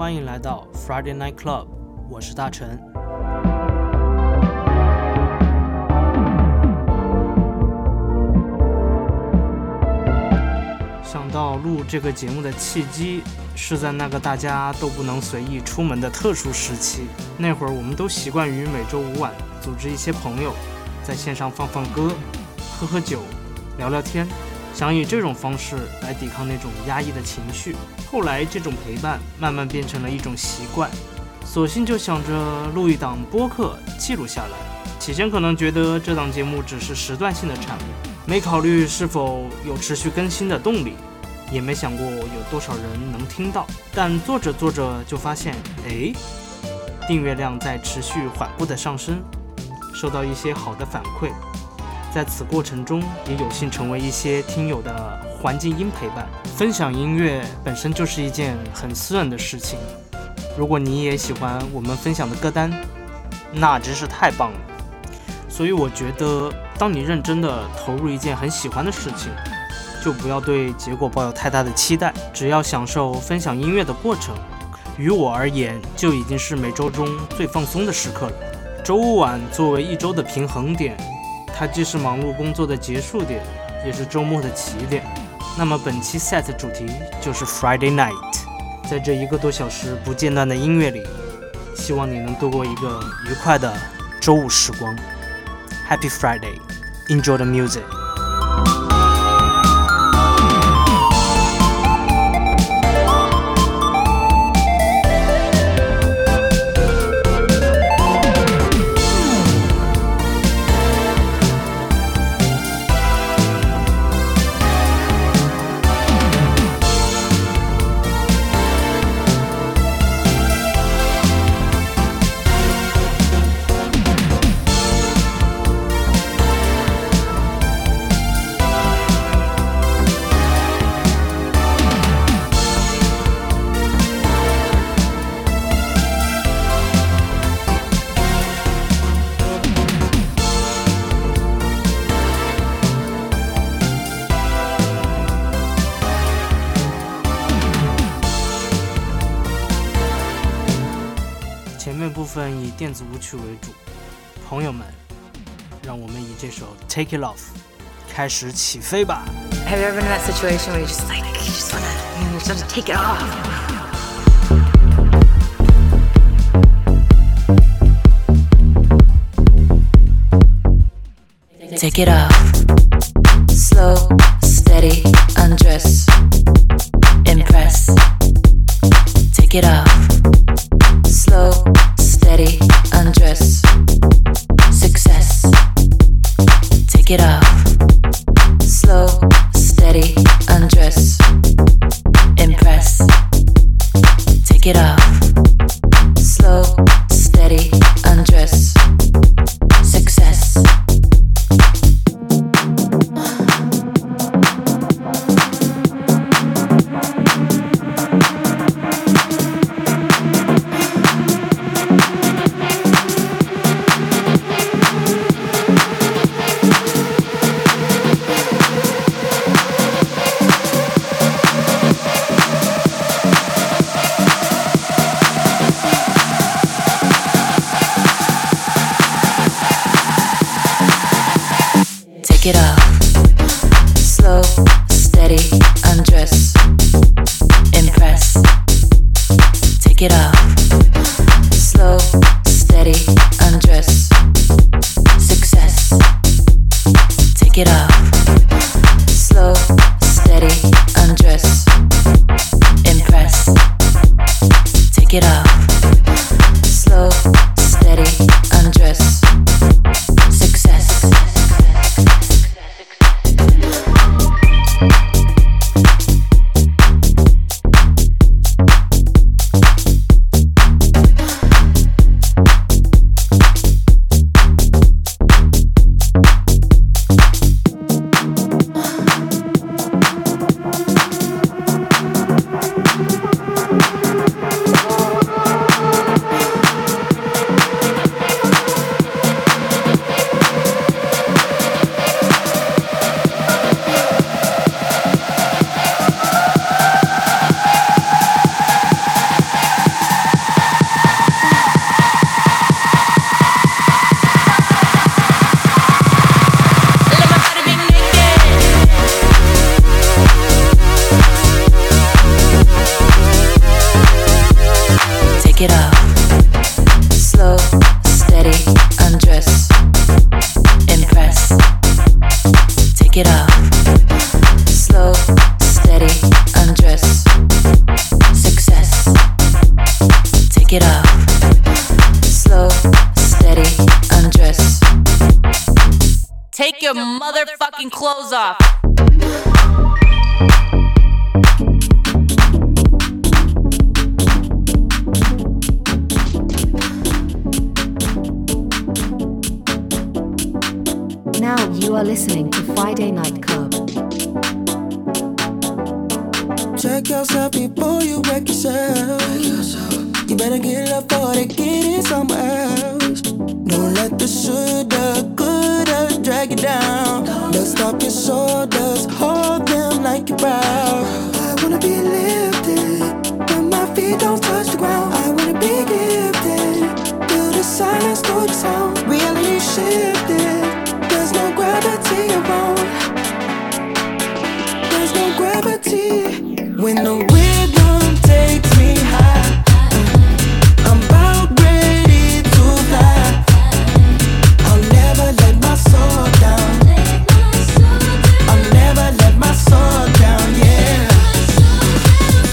欢迎来到 Friday Night Club， 我是大陈。想到录这个节目的契机是在那个大家都不能随意出门的特殊时期，那会儿我们都习惯于每周五晚组织一些朋友在线上放歌、喝酒、聊聊天，想以这种方式来抵抗那种压抑的情绪。后来这种陪伴慢慢变成了一种习惯，索性就想着录一档播客记录下来。起先可能觉得这档节目只是时段性的产物，没考虑是否有持续更新的动力，也没想过有多少人能听到。但做着做着就发现，订阅量在持续缓步的上升，收到一些好的反馈。在此过程中也有幸成为一些听友的环境音陪伴。分享音乐本身就是一件很私人的事情，如果你也喜欢我们分享的歌单，那真是太棒了。所以我觉得当你认真的投入一件很喜欢的事情，就不要对结果抱有太大的期待，只要享受分享音乐的过程，于我而言就已经是每周中最放松的时刻了。周五晚作为一周的平衡点，它既是忙碌工作的结束点，也是周末的起点。那么本期 set 主题就是 Friday Night。 在这1个多小时不间断的音乐里，希望你能度过一个愉快的周五时光。 Happy Friday, enjoy the music。前面部分以电子舞曲为主，朋友们，让我们以这首 Take It Off 开始起飞吧。 Have you ever been in that situation where you just wanna take it off? Take it off. Slow, steady, undress, impress. Take it off. Slow, steady, undress, success. Take it off. Slow, steady, undress, impress. Take it off. Slow, steady, undress, success. Take it off. Slow, steady, undress, impress. Take it off. Slow, steady, undress, success. Take it off. Slow, steady, undress, impress. Take it off. Slow, steady, undress, success. Take it off. Slow, steady, undress. Impress. Take it off. Slow, steady, undress. Success. Take it off. Slow, steady, undress. Take your motherfucking clothes off. Now you are listening to Friday Night Club. Check yourself before you wreck yourself. You better get up before they get it somewhere else. Don't let the shoulda, coulda drag you down. Dust off your shoulders, hold them like you're proud. I wanna be lifted, but my feet don't touch the ground. I wanna be gifted, through the silence, through the sound. Reality shifted, there's no gravity around. There's no gravity. When the rhythm takes me high, I'm about ready to fly. I'll never let my soul down. I'll never let my soul down, yeah.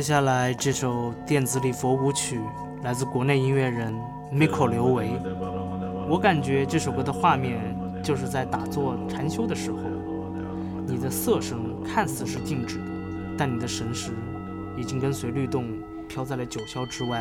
下来这首电子礼佛舞曲来自国内音乐人 Miko 刘维，我感觉这首歌的画面就是在打坐禅修的时候，你的色声看似是静止的，但你的神识已经跟随律动飘在了九霄之外。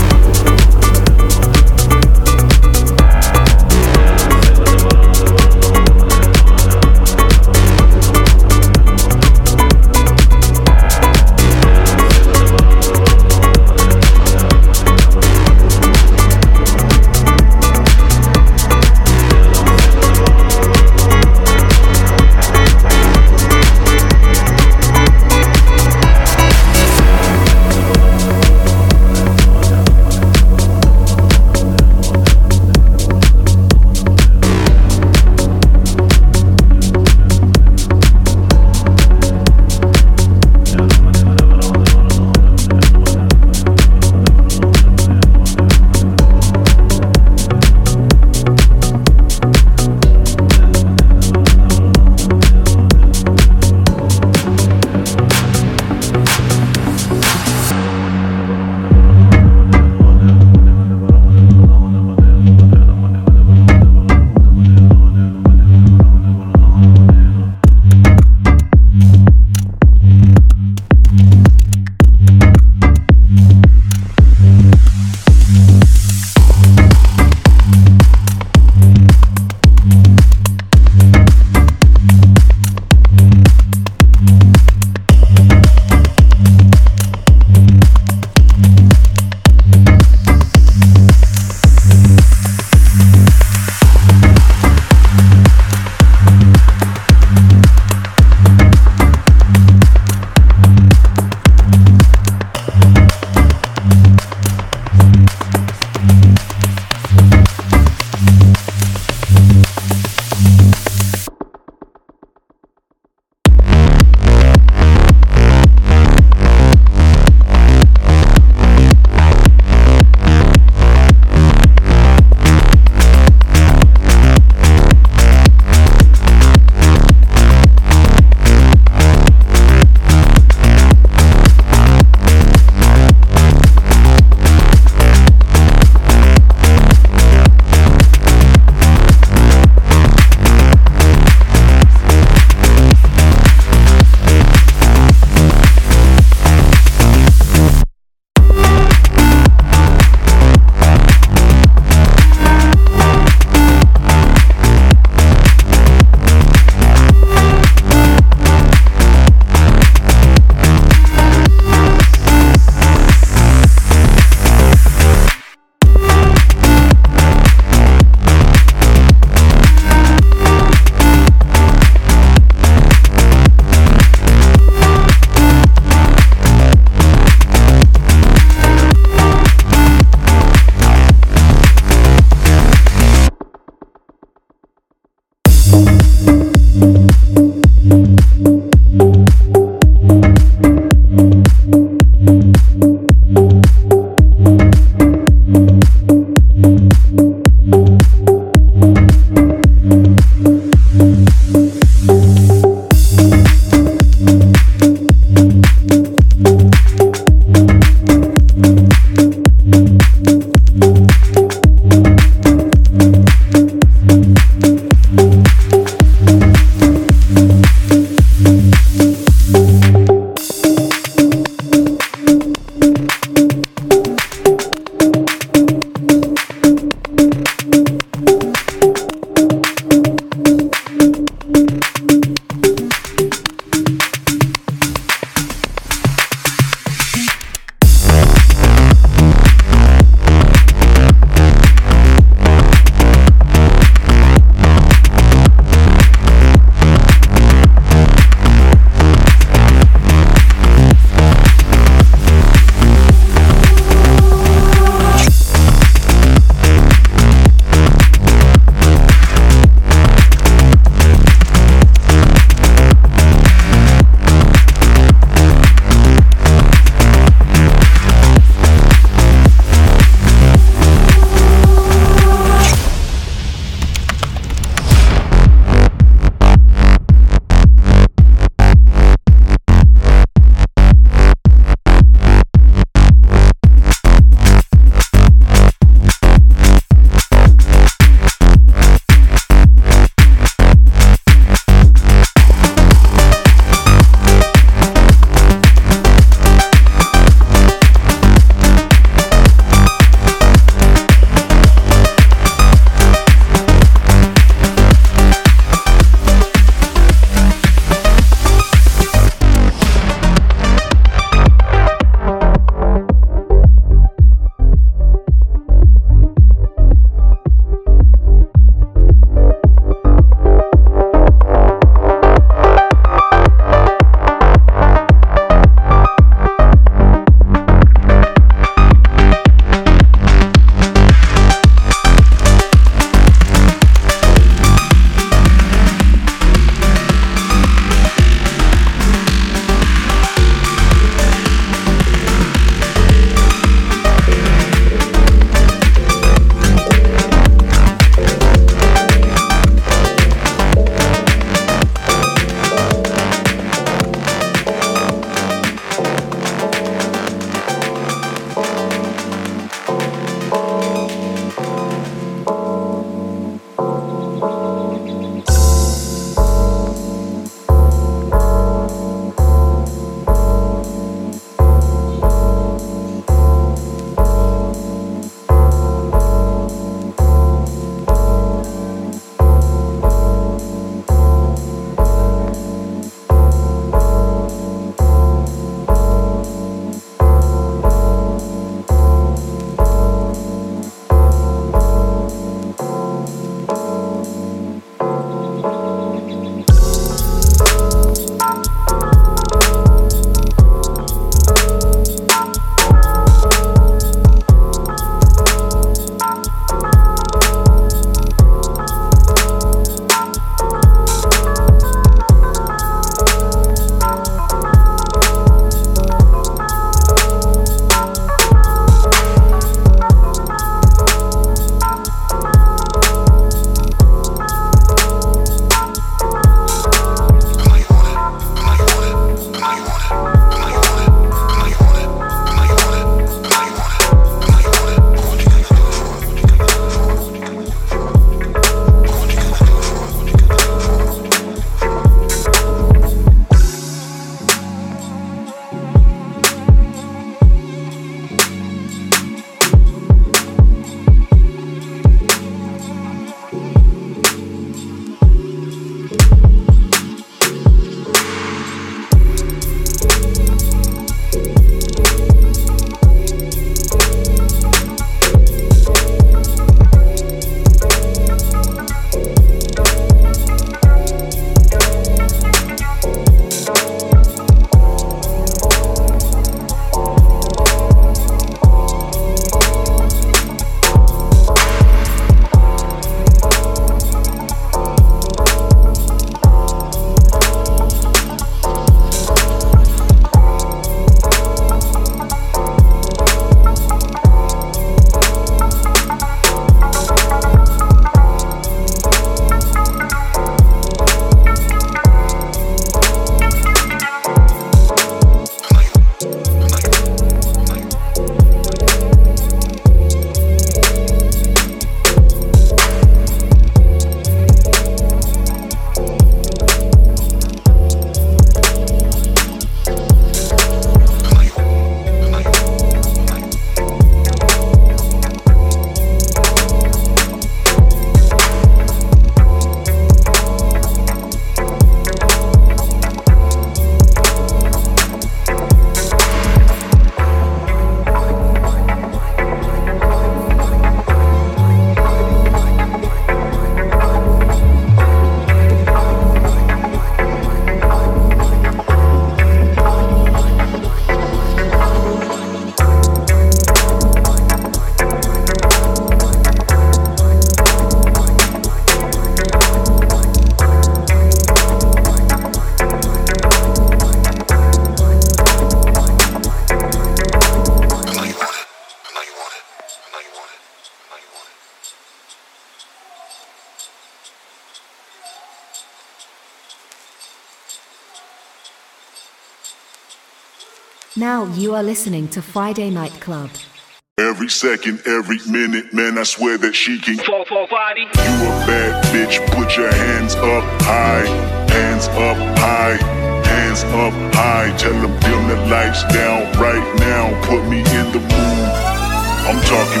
Now you are listening to Friday Night Club. Every second, every minute, man, I swear that she can. You a bad bitch, put your hands up high, hands up high, hands up high. Tell them dim the lights down right now, put me in the mood. I'm talking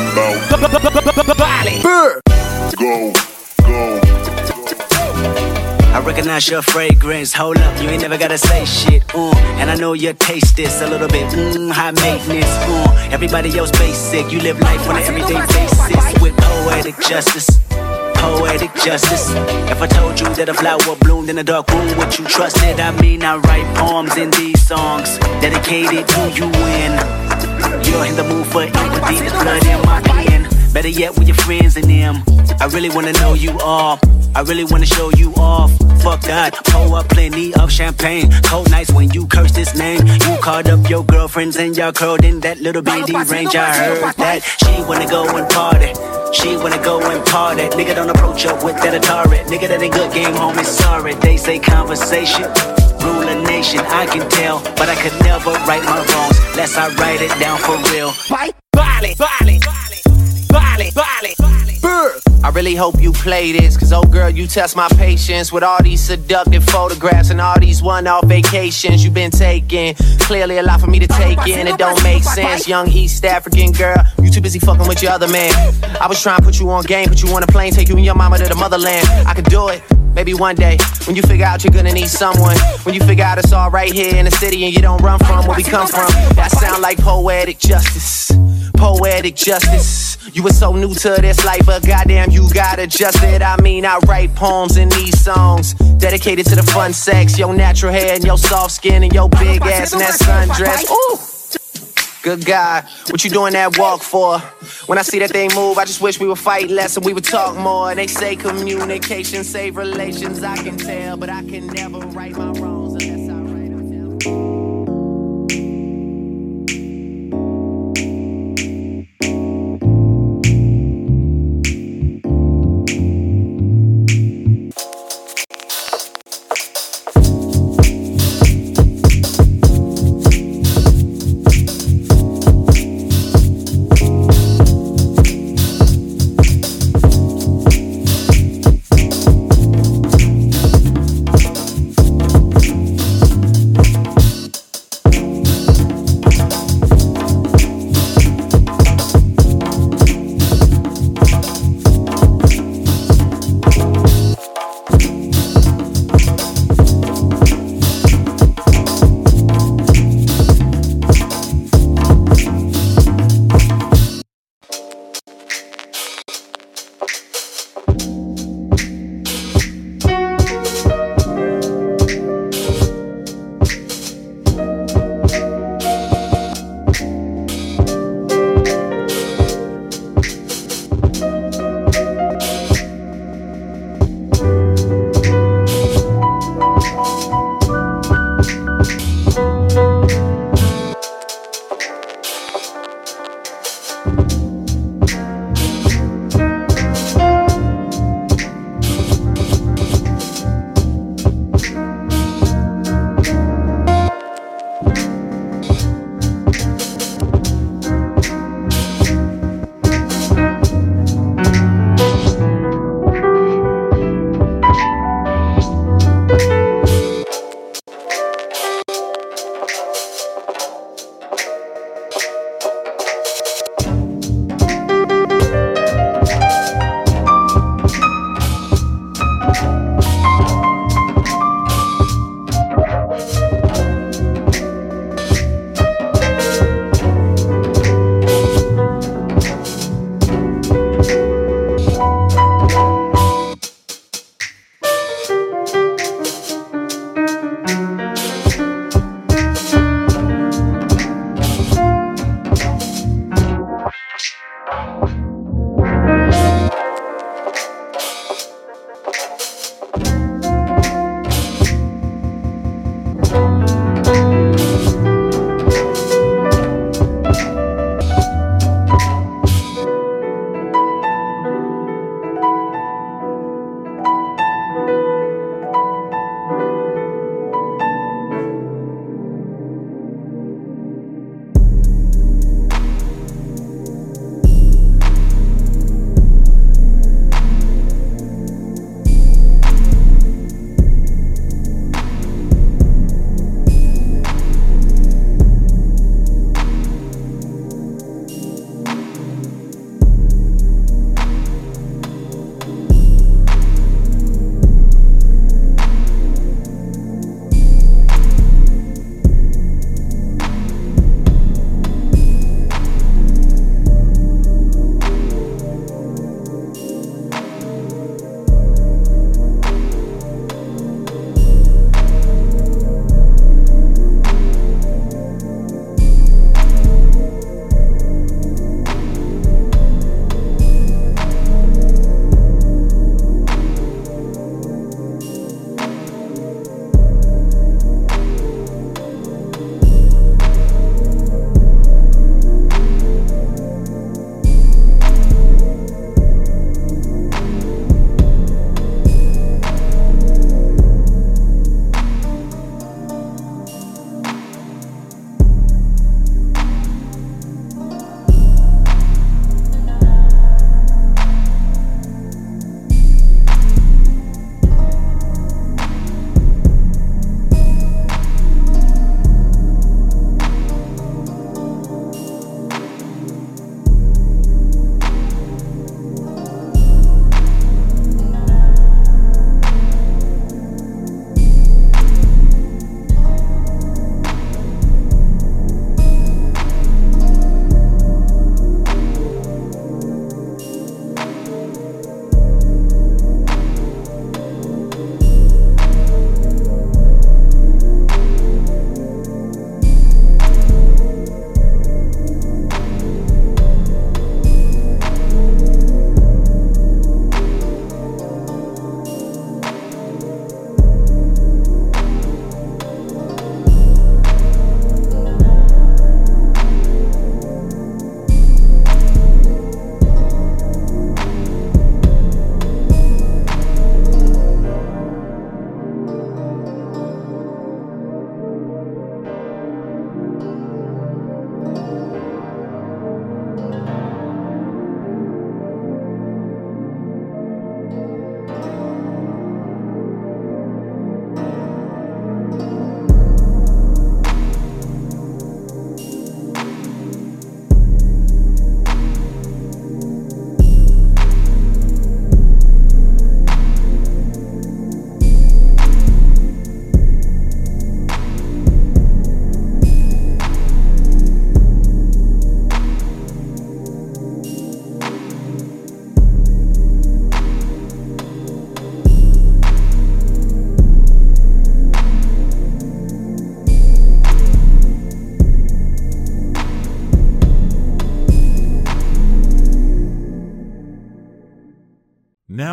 about go, go. I recognize your fragrance, hold up, you ain't never gotta say shit, and I know your taste is a little bit, high maintenance, everybody else basic, you live life on an everyday basis, with poetic justice, poetic justice. If I told you that a flower bloomed in a dark room, would you trust it? I mean, I write poems in these songs, dedicated to you when you're in the mood for empathy, there's blood in my pen. Better yet with your friends and them. I really wanna know you all, I really wanna show you off. Fuck that, pour up plenty of champagne. Cold nights when you curse this name. You called up your girlfriends and y'all curled in that little bitty range. I heard that she wanna go and party, she wanna go and party. Nigga don't approach her with that Atari. Nigga that ain't good game, homie, sorry. They say conversation rule a nation, I can tell, but I could never right my wrongs unless I write it down for real. Bali, Bali, Bali, Bali. I really hope you play this, cause oh girl, you test my patience with all these seductive photographs and all these one-off vacations you've been taking. Clearly a lot for me to take in, it don't make sense. Young East African girl, you too busy fucking with your other man. I was trying to put you on game, put you on a plane, take you and your mama to the motherland. I could do it, maybe one day, when you figure out you're gonna need someone. When you figure out it's all right here in the city and you don't run from where we come from. That sound like poetic justice, poetic justice. You were so new to this life, but goddamn you got adjusted. I mean, I write poems in these songs dedicated to the fun sex, your natural hair and your soft skin and your big ass and that sundress. Ooh, good God, what you doing that walk for? When I see that thing move, I just wish we would fight less and we would talk more. They say communication save relations, I can tell, but I can never right my wrongs unless I write them down.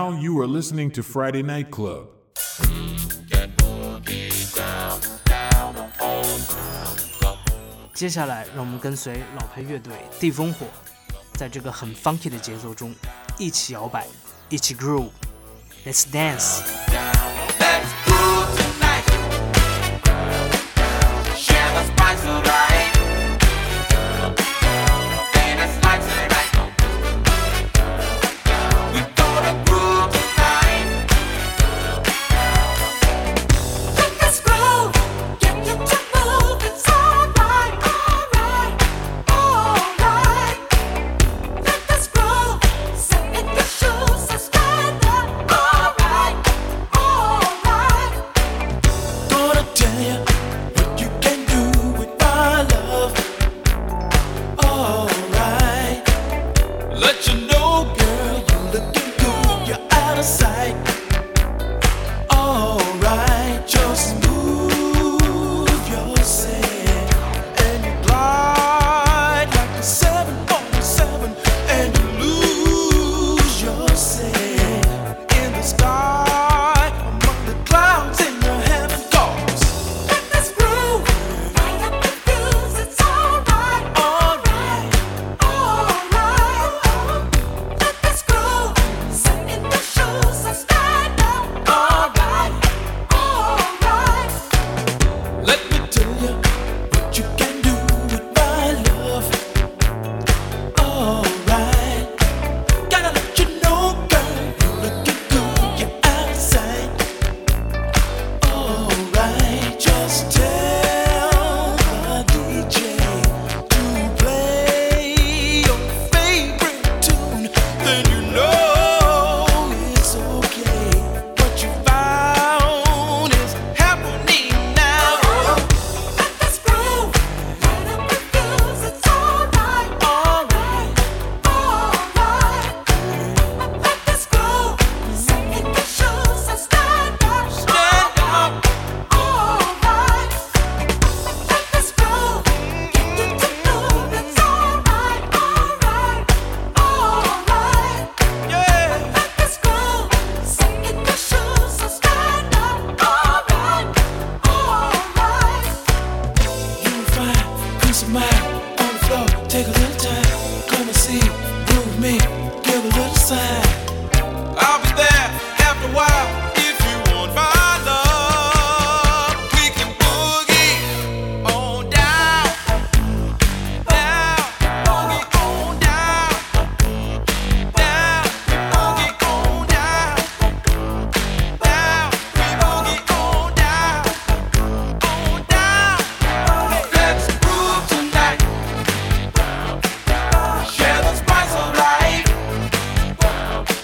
Now you are listening to Friday Night Club. 接下来，让我们跟随老牌乐队地烽火，在这个很 funky 的节奏中，一起摇摆，一起 groove。Let's dance. Let's groove tonight. Share the spice of life. And it's like tonight. We gonna groove tonight. Let us groove. Get you to move. It's alright, alright, alright. Let us groove. Sit in your shoes and stand up. Alright, alright. Gonna tell you what you can do with my love. Alright. Let you know, girl, you're looking good. You're out of sight. Alright, just move yourself and you glide like a 747 and you lose yourself in the sky among the clouds in the heaven goes. Let us groove. Light up the fuse. It's alright, alright, alright. Let us groove. Sit in the shoes and stand up. Alright, alright. Let me tell you what you can do with my love. Alright. Gotta let you know, girl, you're looking good. You're out of sight. Alright. Just tell the DJ to play your favorite tune. Then you know it's okay. What you found is happening now. Let us groove. Light up the fuse. It's alright, alright, alright. Let us groove. Sit in your shoes and stand up. Stand up. Alright. Let us groove. Get you to move. It's alright, alright, alright. Yeah. Let us groove. Sit in your shoes and stand up. Alright, alright. You find peace of mind on the floor. Take a little time. Come and see. Groove me. Give a little sign. I'll be there after a while. If you want my love, we can boogie on down. Down. Boogie on down. Down. Boogie on down. Down. We boogie on down. On down. Let's groove tonight. Share the spice of life.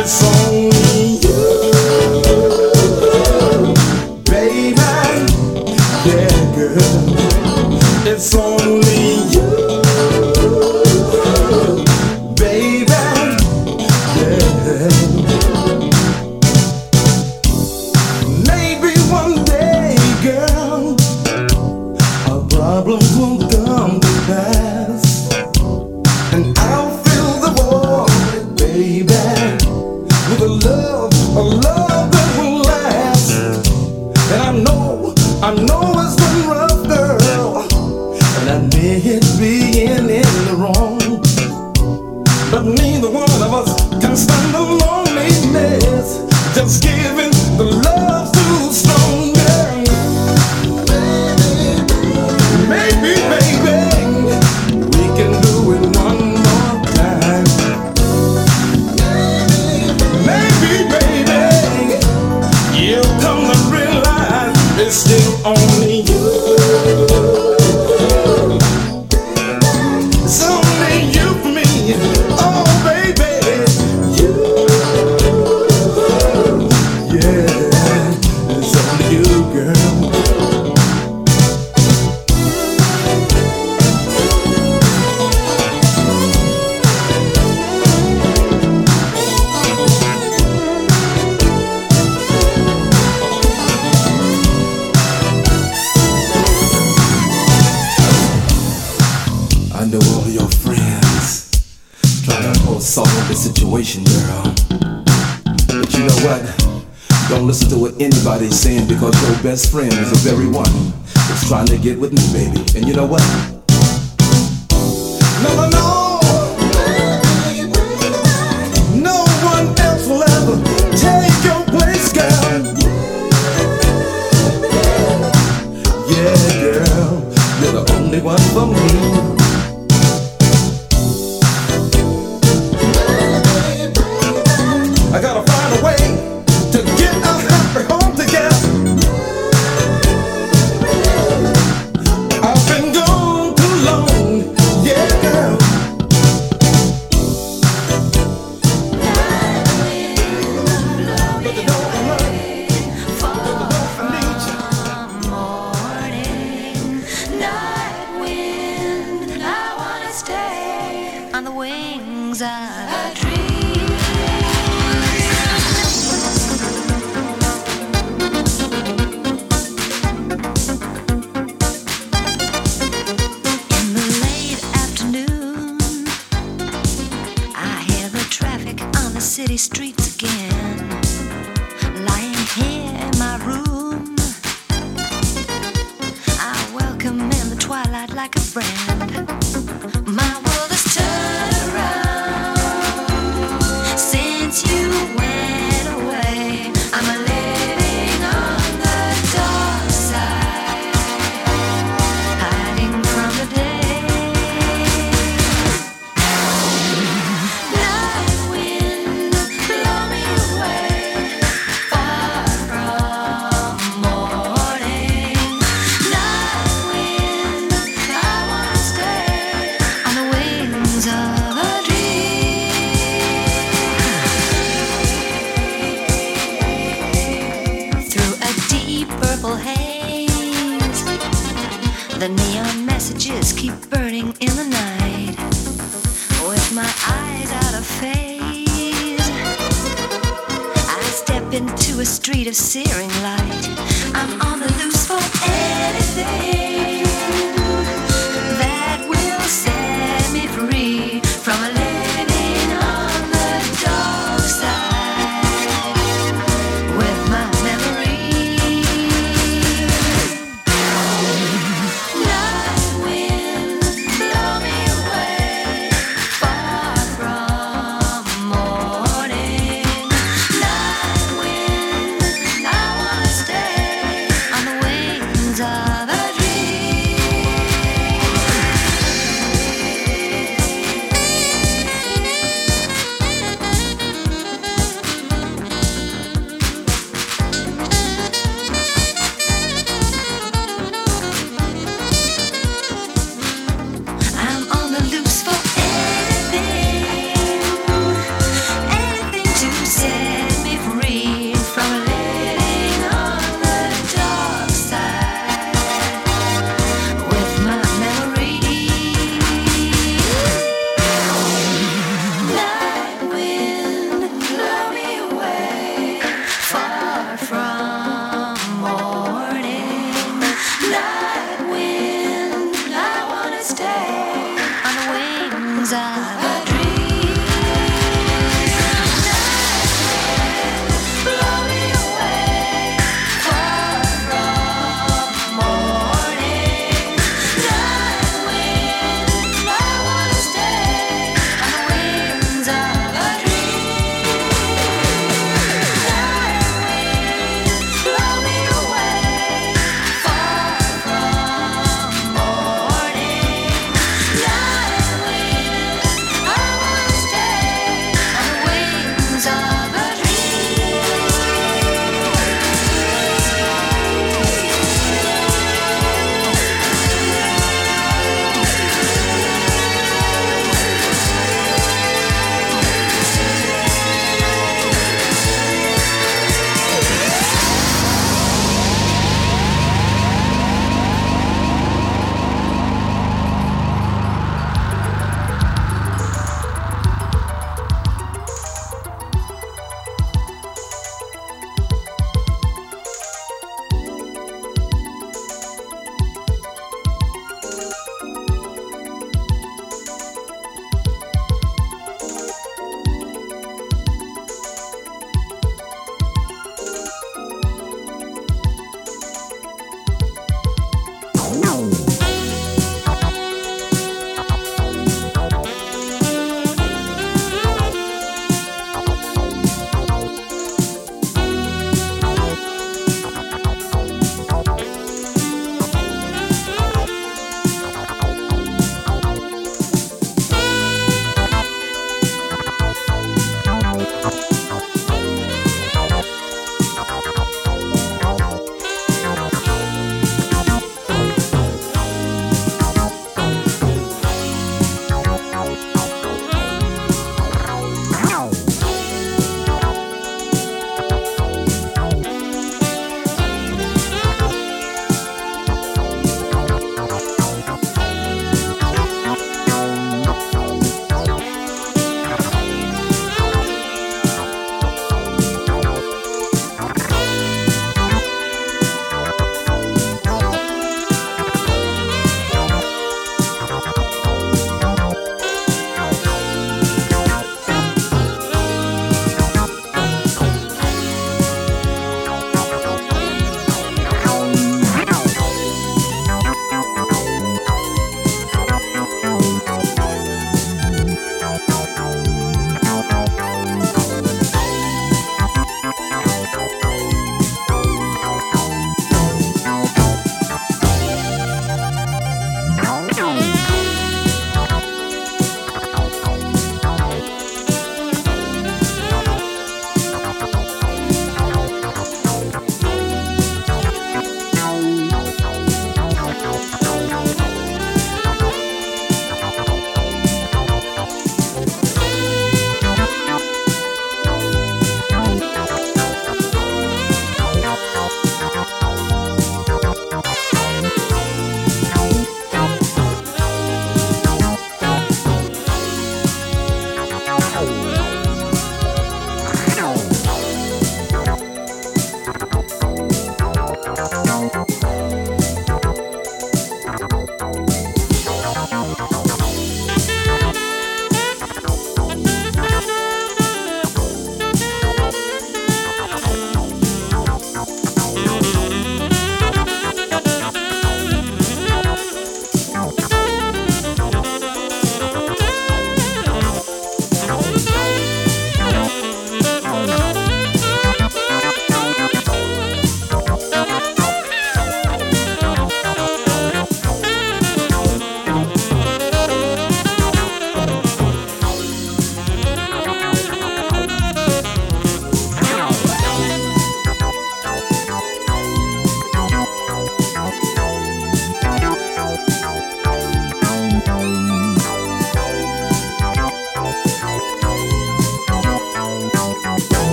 It's only you, baby. Yeah, girl. It's only you, baby. Yeah. Maybe one day, girl, our problems will come to pass, and I'll fill the void, baby, with a love that will last. And I know it's been rough, girl, and I admit being in the wrong, but neither one of us can stand the loneliness. Just giving the love too strong, girl. Maybe, baby, we can do it one more time. Maybe, baby, you'll come to realize it's still only you. It's only you for me. Oh, baby, you. Yeah, it's only you, girl. I know all your friends trying to solve the situation, girl. But you know what? Don't listen to what anybody's saying, because your best friend is the very one that's trying to get with me, baby. And you know what? No, no one else will ever take your place, girl. Yeah, girl, you're the only one for me. I gotta find a way to get a happy home together. I've been gone too long, yeah, girl. But the door I'm running, I need you. Night wind, I wanna stay on the wings of a dream. In the late afternoon, I hear the traffic on the city streets again. Lying here in my room, I welcome in the twilight like a friend. My world has turned around since you went away. I'm a living on the dark side, hiding from the day. Night wind, blow me away, far from morning. Night wind, I wanna stay on the wings of a dream. Through a deep purple haze, the neon messages keep burning in the night. With my eyes out of phase, I step into a street of searing light. I'm on the loose for anything that will set me free from a living on the dark side with my memory. Night wind, blow me away, far from morning. Night wind, I wanna stay on the wings of a dream. stay on the wings of a dream. Blow me away far from morning. Night wind, I wanna stay on the wings of a dream. Night wind, blow me away far from morning.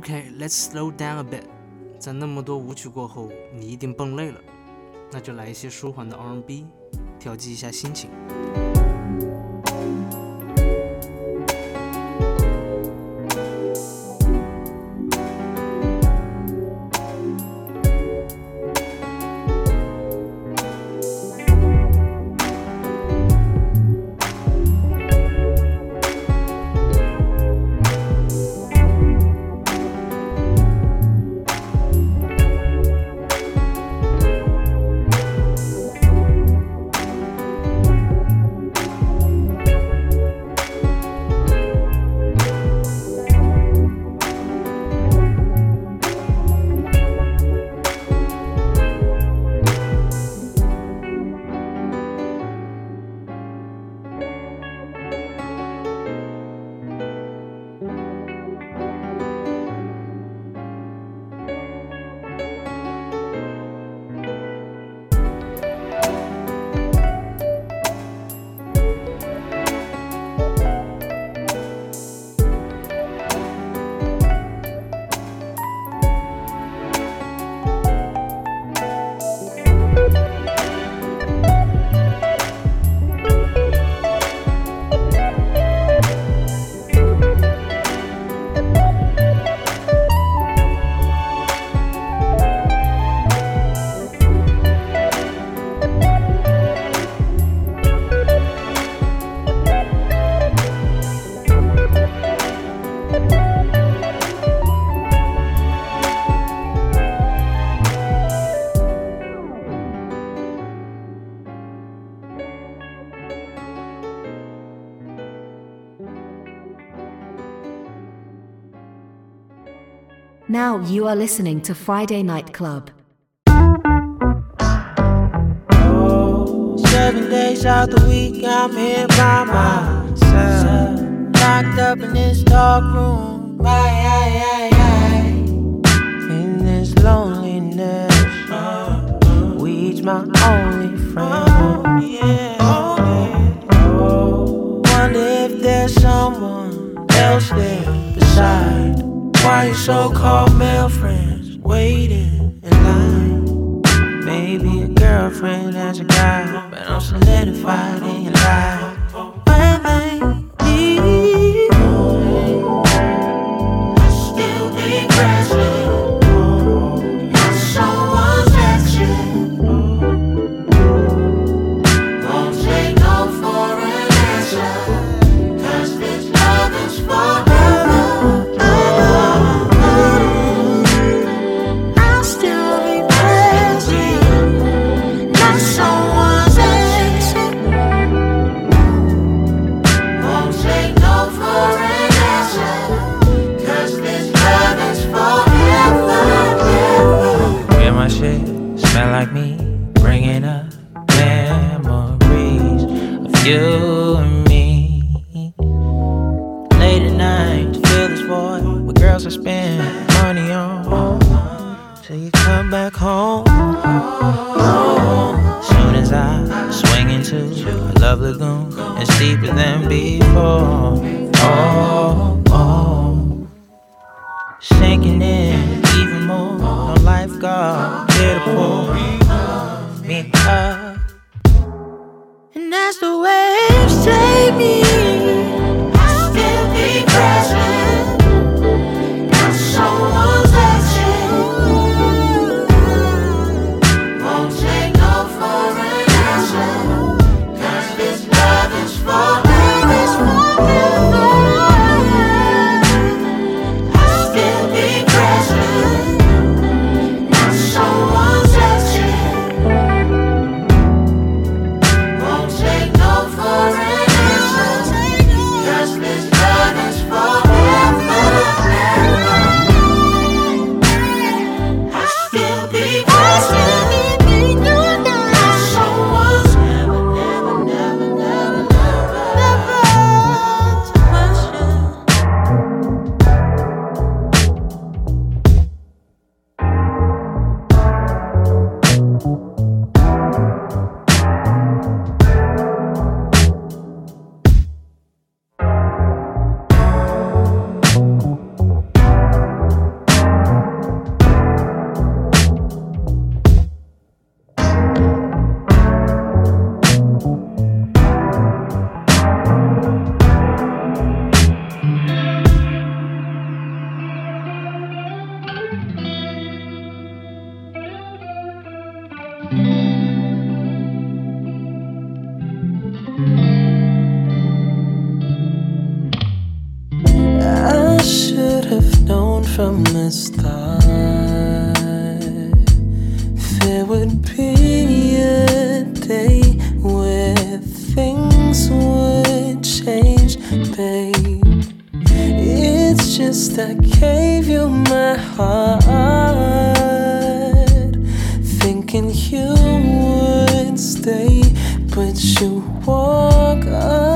OK, let's slow down a bit. 在那么多舞曲过后，你一定蹦累了，那就来一些舒缓的 R&B， 调剂一下心情。 Now you are listening to Friday Night Club. 7 days out the week, I'm here by myself, locked up in this dark room. In this loneliness, weed's my only friend. Wonder if there's someone else there beside. Why your so-called male friends waiting in line? Maybe a girlfriend as a guy, but I'm solidified in your life. When they leave, still be present. You're someone's action. Won't take no for an answer, 'cause this love is forever. Smell like me, bringing up memories of you and me. Late at night, to feel this void with girls I spend money on, till you come back home. Soon as I swing into a love lagoon, it's deeper than before. Sinking in even more, no lifeguard here to pull me up. And as the waves take me, I'll still be present. Got someone's action. Won't take no for an answer, 'cause this love is forever. just thought there would be a day where things would change, babe. It's just I gave you my heart, thinking you would stay, but you walk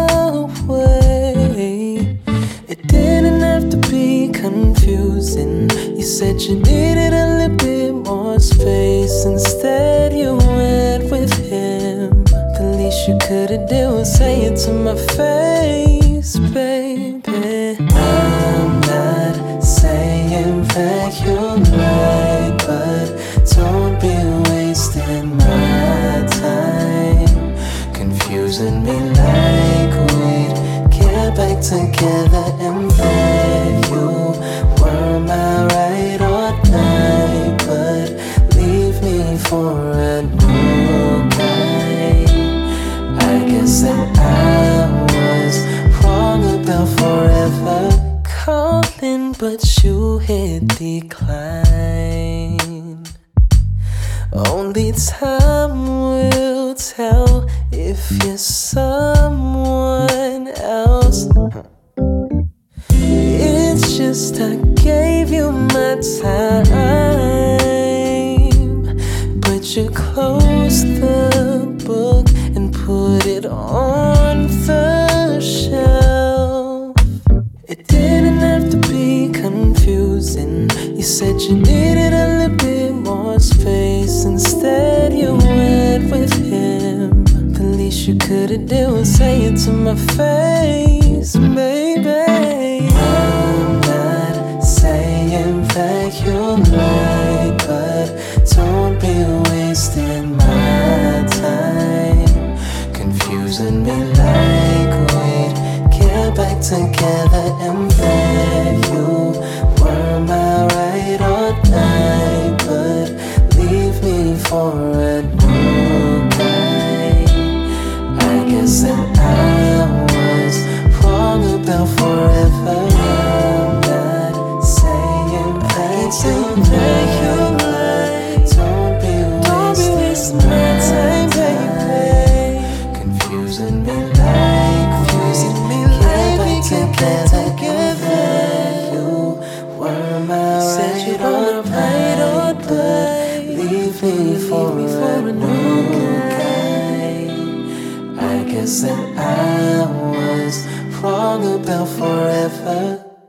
away. It didn't have to be confusing. You said you needed a little bit more space. Instead you went with him. The least you could've did was say it to my face, baby. I'm not saying that you're right, but don't be wasting my time, confusing me like we'd get back together and that you were my right or die, but leave me for a new guy. I guess that I was wrong about forever calling, but you hit decline. Only time will tell if you're someone else. It's just I gave you my time, but you closed the book and put it on the shelf. It didn't have to be confusing. You said you needed a little bit more space. Instead you went with him. The least you could've did was say it to my face, baby. I'm not saying that you're right, but don't be wasting my time, confusing me like we'd get back together and that you were my right or die, but leave me for a new guy. I guess that I was wrong about forever. I'm not saying that you're right. Don't be wasting my time, baby. Confusing me like we get back together. You were my right or die, leave me for a new guy. I guess that I was wrong about forever.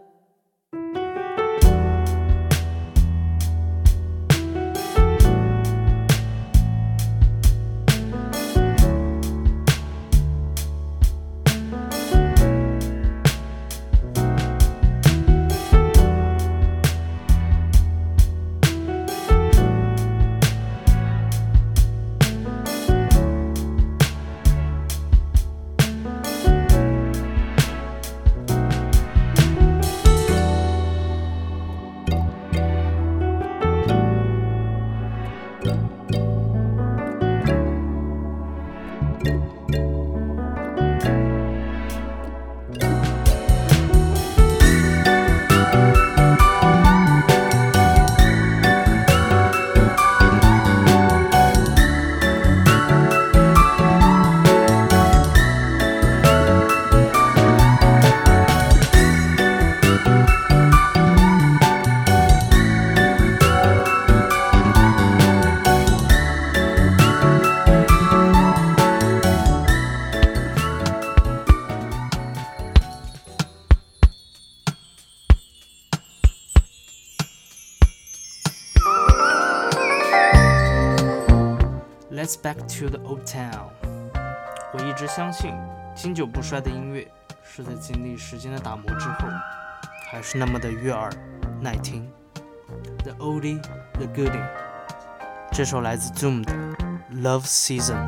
Let's back to the old town。我一直相信，经久不衰的音乐是在经历时间的打磨之后，还是那么的悦耳耐听。The oldie, the goodie。这首来自 Zoom 的 Love Season。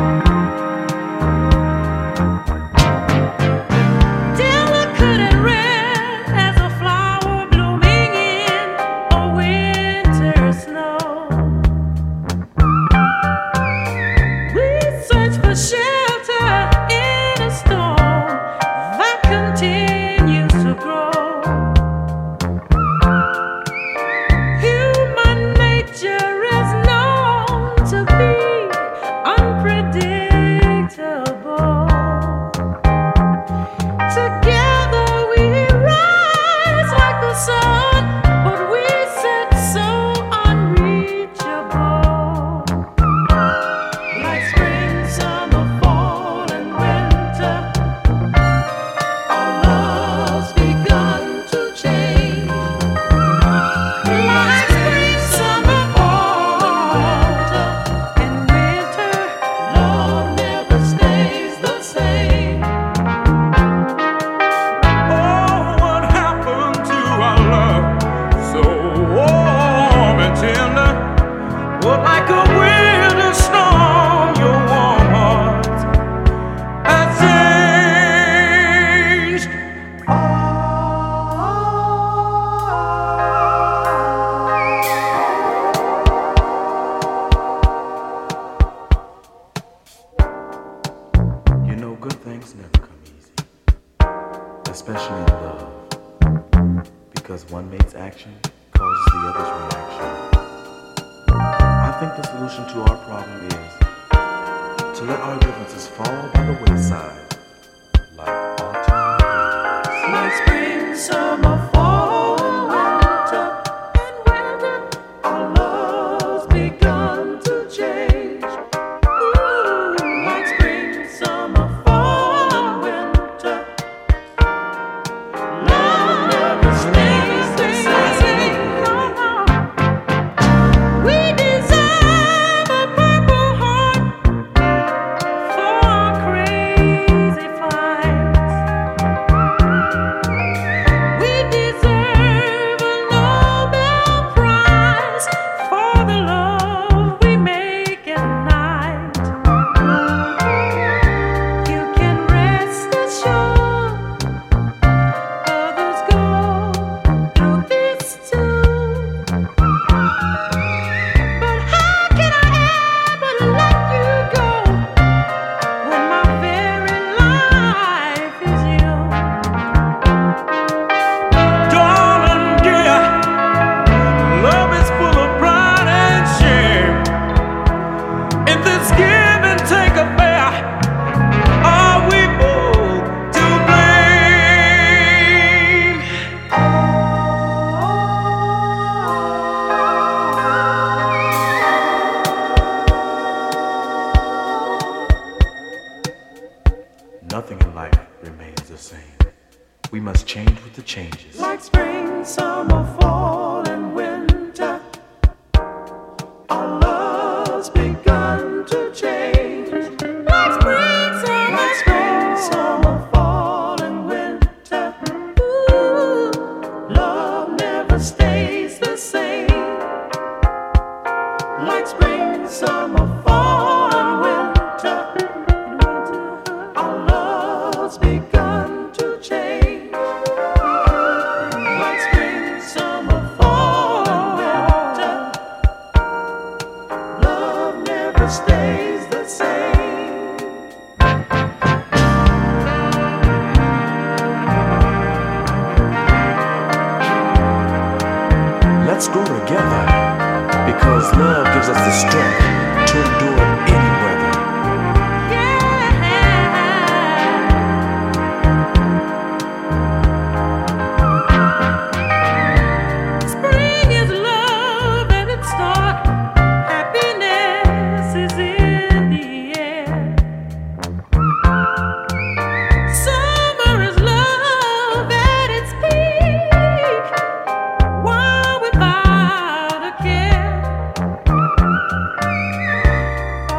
Till I couldn't read. one mate's action causes the other's reaction. I think the solution to our problem is to let our differences fall by the wayside like autumn leaves. Like spring, summer, fall, winter, and winter, our love's begun to change. Ooh, like spring, summer, fall, and winter, love never stays the same. We deserve a purple heart for our crazy flights. We deserve a Nobel Prize for the love we make at night. You can rest assured, others go through this too. But how can I ever let you go when my very life is you? Darling dear, love is full of pride and shame. In this give and take affair, are we both to blame? Nothing in life remains the same. We must change with the changes. Like spring, summer, fall, and winter, our love's begun to change. Like spring, summer, fall, and winter, ooh, love never stays the same. Like spring, summer, fall, and winter, our love's begun to change. Like spring, summer, fall, and winter, love never stays the same. Let's grow together because love gives us the strength to endure any weather. Spring is love at its start. Happiness is in the air. Summer is love at its peak, while without a care.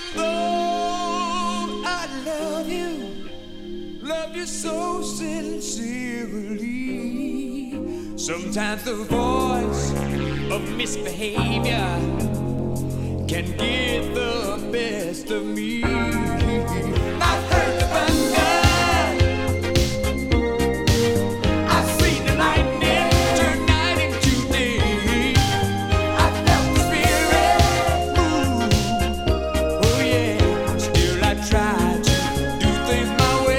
though I love you so sincerely. Sometimes the voice of misbehavior can get the best of me. I've heard the thunder, I've seen the lightning turn night into day. I felt the spirit move, oh yeah. Still I try to do things my way.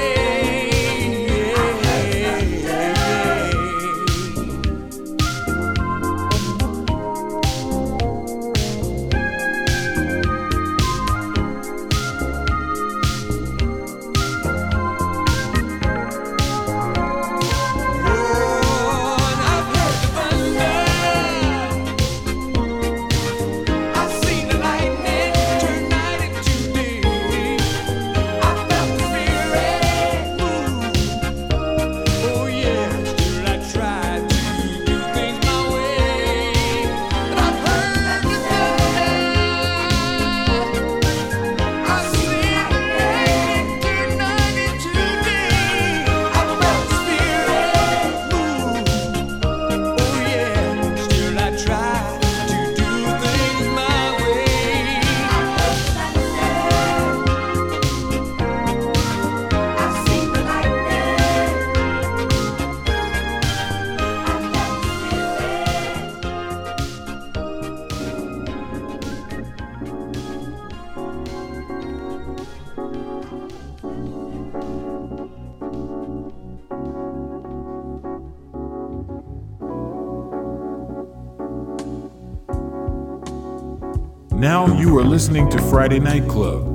Now you are listening to Friday Night Club.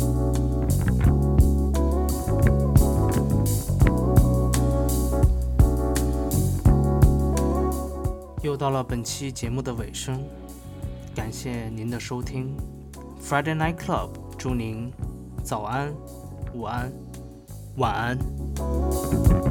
又到了本期节目的尾声，感谢您的收听。Friday Night Club 祝您早安、午安、晚安。